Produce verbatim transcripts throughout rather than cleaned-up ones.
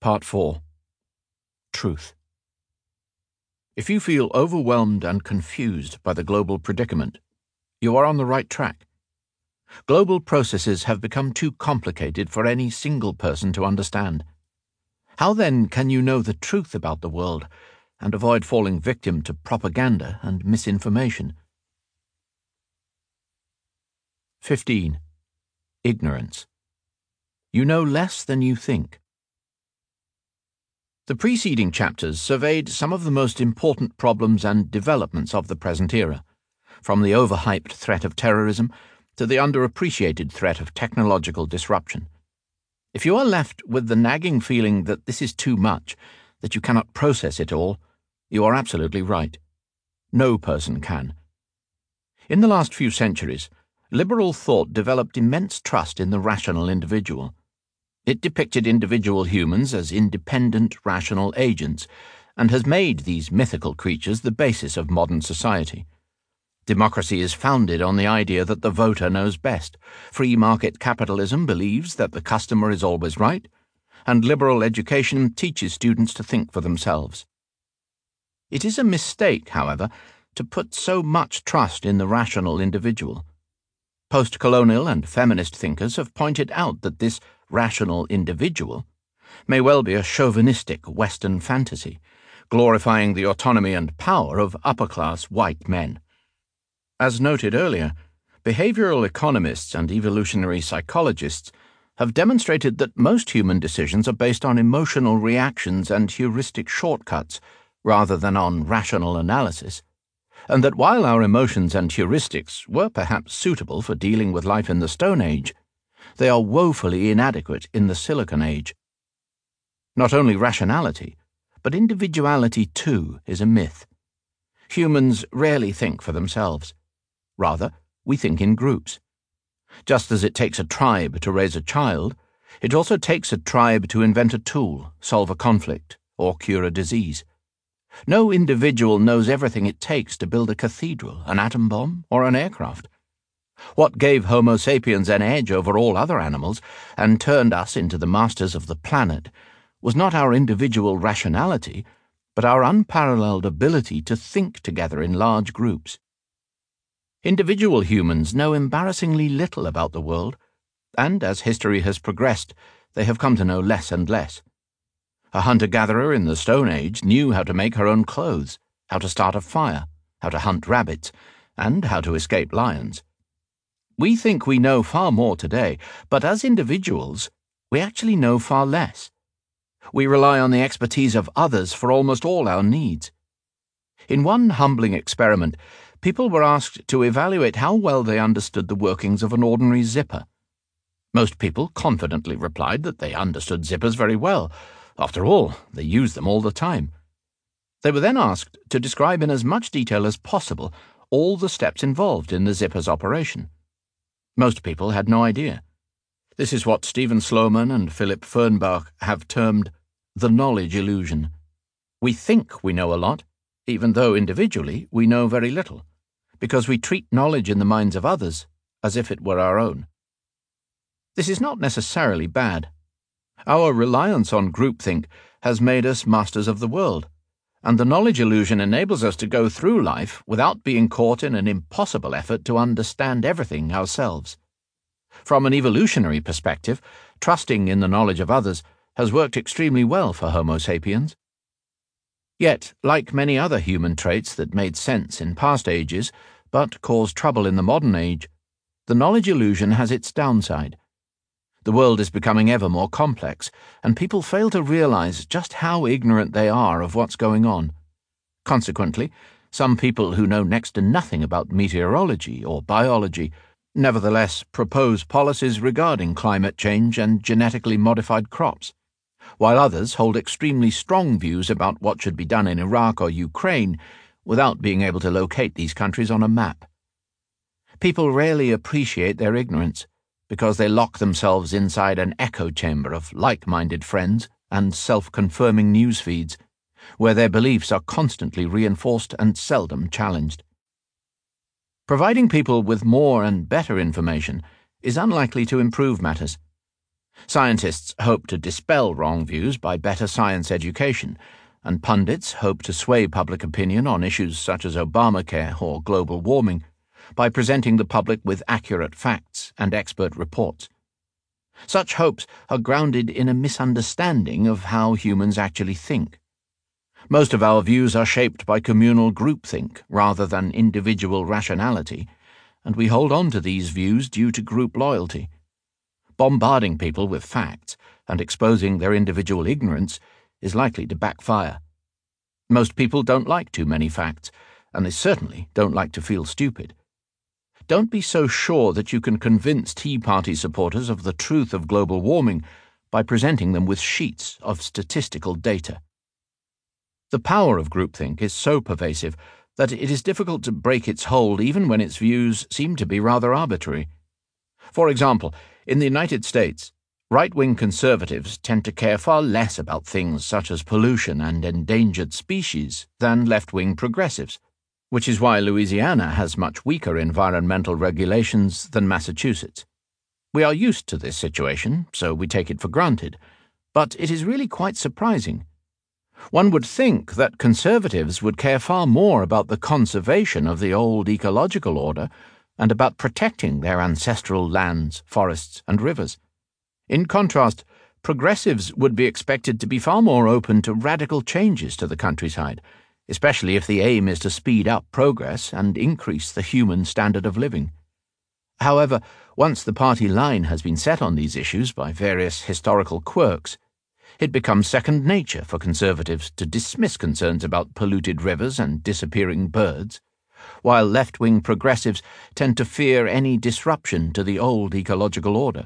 Part four. Truth. If you feel overwhelmed and confused by the global predicament, you are on the right track. Global processes have become too complicated for any single person to understand. How then can you know the truth about the world and avoid falling victim to propaganda and misinformation? fifteen. Ignorance. You know less than you think. The preceding chapters surveyed some of the most important problems and developments of the present era, from the overhyped threat of terrorism to the underappreciated threat of technological disruption. If you are left with the nagging feeling that this is too much, that you cannot process it all, you are absolutely right. No person can. In the last few centuries, liberal thought developed immense trust in the rational individual. It depicted individual humans as independent, rational agents, and has made these mythical creatures the basis of modern society. Democracy is founded on the idea that the voter knows best. Free market capitalism believes that the customer is always right, and liberal education teaches students to think for themselves. It is a mistake, however, to put so much trust in the rational individual. Post-colonial and feminist thinkers have pointed out that this rational individual may well be a chauvinistic Western fantasy, glorifying the autonomy and power of upper-class white men. As noted earlier, behavioral economists and evolutionary psychologists have demonstrated that most human decisions are based on emotional reactions and heuristic shortcuts rather than on rational analysis, and that while our emotions and heuristics were perhaps suitable for dealing with life in the Stone Age, they are woefully inadequate in the Silicon Age. Not only rationality, but individuality too is a myth. Humans rarely think for themselves. Rather, we think in groups. Just as it takes a tribe to raise a child, it also takes a tribe to invent a tool, solve a conflict, or cure a disease. No individual knows everything it takes to build a cathedral, an atom bomb, or an aircraft. What gave Homo sapiens an edge over all other animals and turned us into the masters of the planet was not our individual rationality, but our unparalleled ability to think together in large groups. Individual humans know embarrassingly little about the world, and as history has progressed, they have come to know less and less. A hunter-gatherer in the Stone Age knew how to make her own clothes, how to start a fire, how to hunt rabbits, and how to escape lions. We think we know far more today, but as individuals, we actually know far less. We rely on the expertise of others for almost all our needs. In one humbling experiment, people were asked to evaluate how well they understood the workings of an ordinary zipper. Most people confidently replied that they understood zippers very well. After all, they use them all the time. They were then asked to describe in as much detail as possible all the steps involved in the zipper's operation. Most people had no idea. This is what Stephen Sloman and Philip Fernbach have termed the knowledge illusion. We think we know a lot, even though individually we know very little, because we treat knowledge in the minds of others as if it were our own. This is not necessarily bad. Our reliance on groupthink has made us masters of the world, and the knowledge illusion enables us to go through life without being caught in an impossible effort to understand everything ourselves. From an evolutionary perspective, trusting in the knowledge of others has worked extremely well for Homo sapiens. Yet, like many other human traits that made sense in past ages but caused trouble in the modern age, the knowledge illusion has its downside. The world is becoming ever more complex, and people fail to realize just how ignorant they are of what's going on. Consequently, some people who know next to nothing about meteorology or biology nevertheless propose policies regarding climate change and genetically modified crops, while others hold extremely strong views about what should be done in Iraq or Ukraine without being able to locate these countries on a map. People rarely appreciate their ignorance, because they lock themselves inside an echo chamber of like-minded friends and self-confirming news feeds, where their beliefs are constantly reinforced and seldom challenged. Providing people with more and better information is unlikely to improve matters. Scientists hope to dispel wrong views by better science education, and pundits hope to sway public opinion on issues such as Obamacare or global warming by presenting the public with accurate facts and expert reports. Such hopes are grounded in a misunderstanding of how humans actually think. Most of our views are shaped by communal groupthink rather than individual rationality, and we hold on to these views due to group loyalty. Bombarding people with facts and exposing their individual ignorance is likely to backfire. Most people don't like too many facts, and they certainly don't like to feel stupid. Don't be so sure that you can convince Tea Party supporters of the truth of global warming by presenting them with sheets of statistical data. The power of groupthink is so pervasive that it is difficult to break its hold even when its views seem to be rather arbitrary. For example, in the United States, right-wing conservatives tend to care far less about things such as pollution and endangered species than left-wing progressives, which is why Louisiana has much weaker environmental regulations than Massachusetts. We are used to this situation, so we take it for granted, but it is really quite surprising. One would think that conservatives would care far more about the conservation of the old ecological order and about protecting their ancestral lands, forests, and rivers. In contrast, progressives would be expected to be far more open to radical changes to the countryside, especially if the aim is to speed up progress and increase the human standard of living. However, once the party line has been set on these issues by various historical quirks, it becomes second nature for conservatives to dismiss concerns about polluted rivers and disappearing birds, while left-wing progressives tend to fear any disruption to the old ecological order.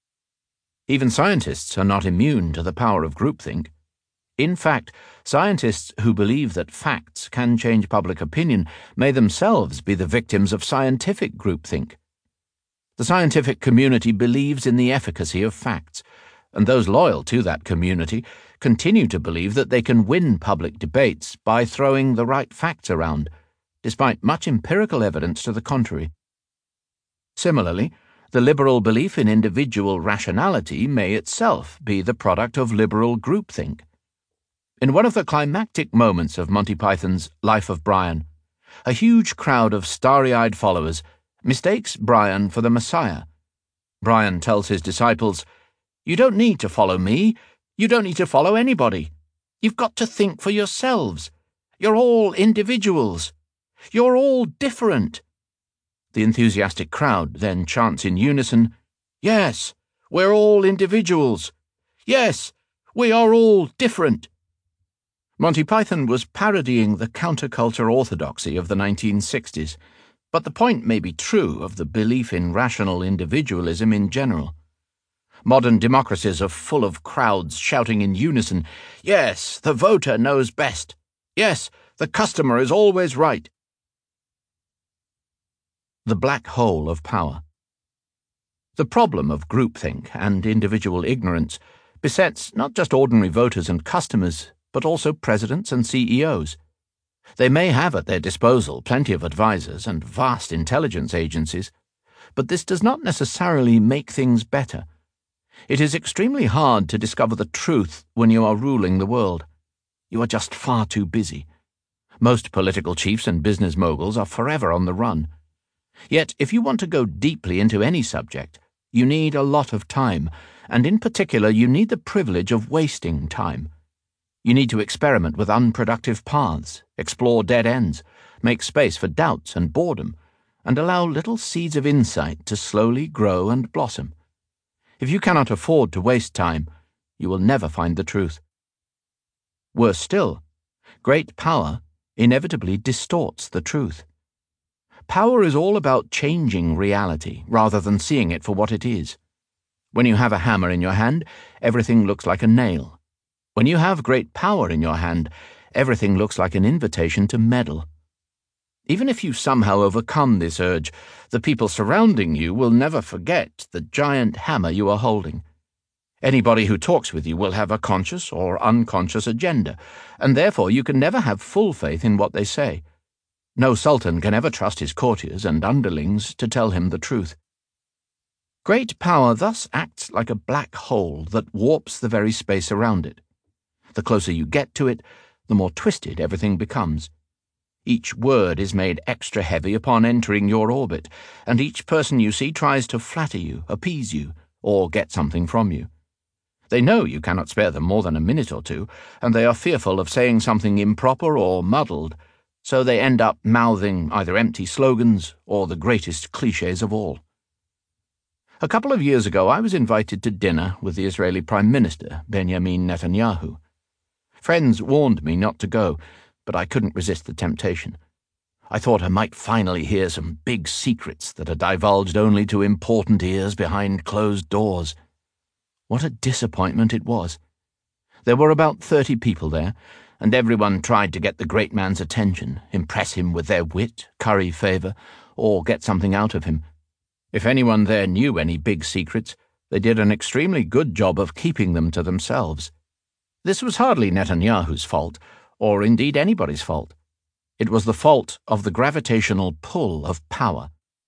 Even scientists are not immune to the power of groupthink. In fact, scientists who believe that facts can change public opinion may themselves be the victims of scientific groupthink. The scientific community believes in the efficacy of facts, and those loyal to that community continue to believe that they can win public debates by throwing the right facts around, despite much empirical evidence to the contrary. Similarly, the liberal belief in individual rationality may itself be the product of liberal groupthink. In one of the climactic moments of Monty Python's Life of Brian, a huge crowd of starry-eyed followers mistakes Brian for the Messiah. Brian tells his disciples, "You don't need to follow me. You don't need to follow anybody. You've got to think for yourselves. You're all individuals. You're all different." The enthusiastic crowd then chants in unison, "Yes, we're all individuals. Yes, we are all different." Monty Python was parodying the counterculture orthodoxy of the nineteen sixties, but the point may be true of the belief in rational individualism in general. Modern democracies are full of crowds shouting in unison, "Yes, the voter knows best. Yes, the customer is always right." The black hole of power. The problem of groupthink and individual ignorance besets not just ordinary voters and customers, but also presidents and C E Os. They may have at their disposal plenty of advisers and vast intelligence agencies, but this does not necessarily make things better. It is extremely hard to discover the truth when you are ruling the world. You are just far too busy. Most political chiefs and business moguls are forever on the run. Yet, if you want to go deeply into any subject, you need a lot of time, and in particular you need the privilege of wasting time. You need to experiment with unproductive paths, explore dead ends, make space for doubts and boredom, and allow little seeds of insight to slowly grow and blossom. If you cannot afford to waste time, you will never find the truth. Worse still, great power inevitably distorts the truth. Power is all about changing reality rather than seeing it for what it is. When you have a hammer in your hand, everything looks like a nail. When you have great power in your hand, everything looks like an invitation to meddle. Even if you somehow overcome this urge, the people surrounding you will never forget the giant hammer you are holding. Anybody who talks with you will have a conscious or unconscious agenda, and therefore you can never have full faith in what they say. No sultan can ever trust his courtiers and underlings to tell him the truth. Great power thus acts like a black hole that warps the very space around it. The closer you get to it, the more twisted everything becomes. Each word is made extra heavy upon entering your orbit, and each person you see tries to flatter you, appease you, or get something from you. They know you cannot spare them more than a minute or two, and they are fearful of saying something improper or muddled, so they end up mouthing either empty slogans or the greatest clichés of all. A couple of years ago, I was invited to dinner with the Israeli Prime Minister, Benjamin Netanyahu. Friends warned me not to go, but I couldn't resist the temptation. I thought I might finally hear some big secrets that are divulged only to important ears behind closed doors. What a disappointment it was. There were about thirty people there, and everyone tried to get the great man's attention, impress him with their wit, curry favour, or get something out of him. If anyone there knew any big secrets, they did an extremely good job of keeping them to themselves. This was hardly Netanyahu's fault, or indeed anybody's fault. It was the fault of the gravitational pull of power.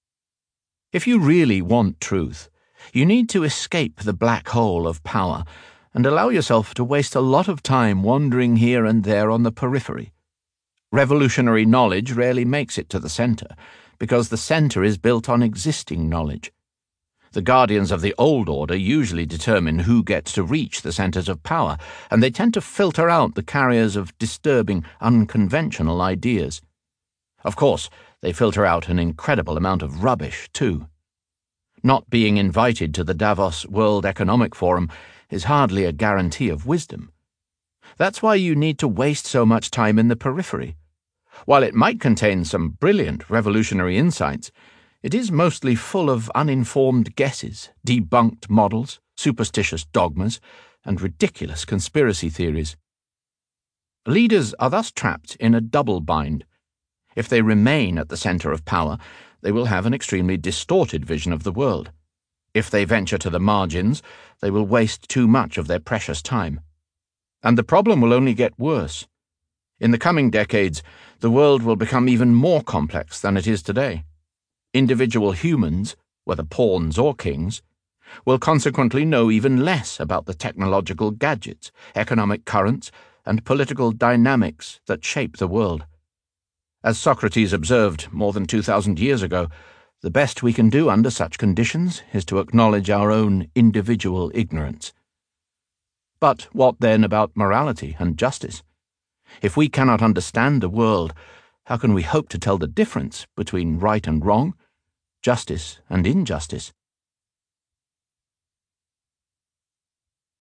If you really want truth, you need to escape the black hole of power and allow yourself to waste a lot of time wandering here and there on the periphery. Revolutionary knowledge rarely makes it to the center, because the center is built on existing knowledge. The guardians of the old order usually determine who gets to reach the centers of power, and they tend to filter out the carriers of disturbing, unconventional ideas. Of course, they filter out an incredible amount of rubbish, too. Not being invited to the Davos World Economic Forum is hardly a guarantee of wisdom. That's why you need to waste so much time in the periphery. While it might contain some brilliant revolutionary insights, it is mostly full of uninformed guesses, debunked models, superstitious dogmas, and ridiculous conspiracy theories. Leaders are thus trapped in a double bind. If they remain at the center of power, they will have an extremely distorted vision of the world. If they venture to the margins, they will waste too much of their precious time. And the problem will only get worse. In the coming decades, the world will become even more complex than it is today. Individual humans, whether pawns or kings, will consequently know even less about the technological gadgets, economic currents, and political dynamics that shape the world. As Socrates observed more than two thousand years ago, the best we can do under such conditions is to acknowledge our own individual ignorance. But what then about morality and justice? If we cannot understand the world, how can we hope to tell the difference between right and wrong, justice and injustice?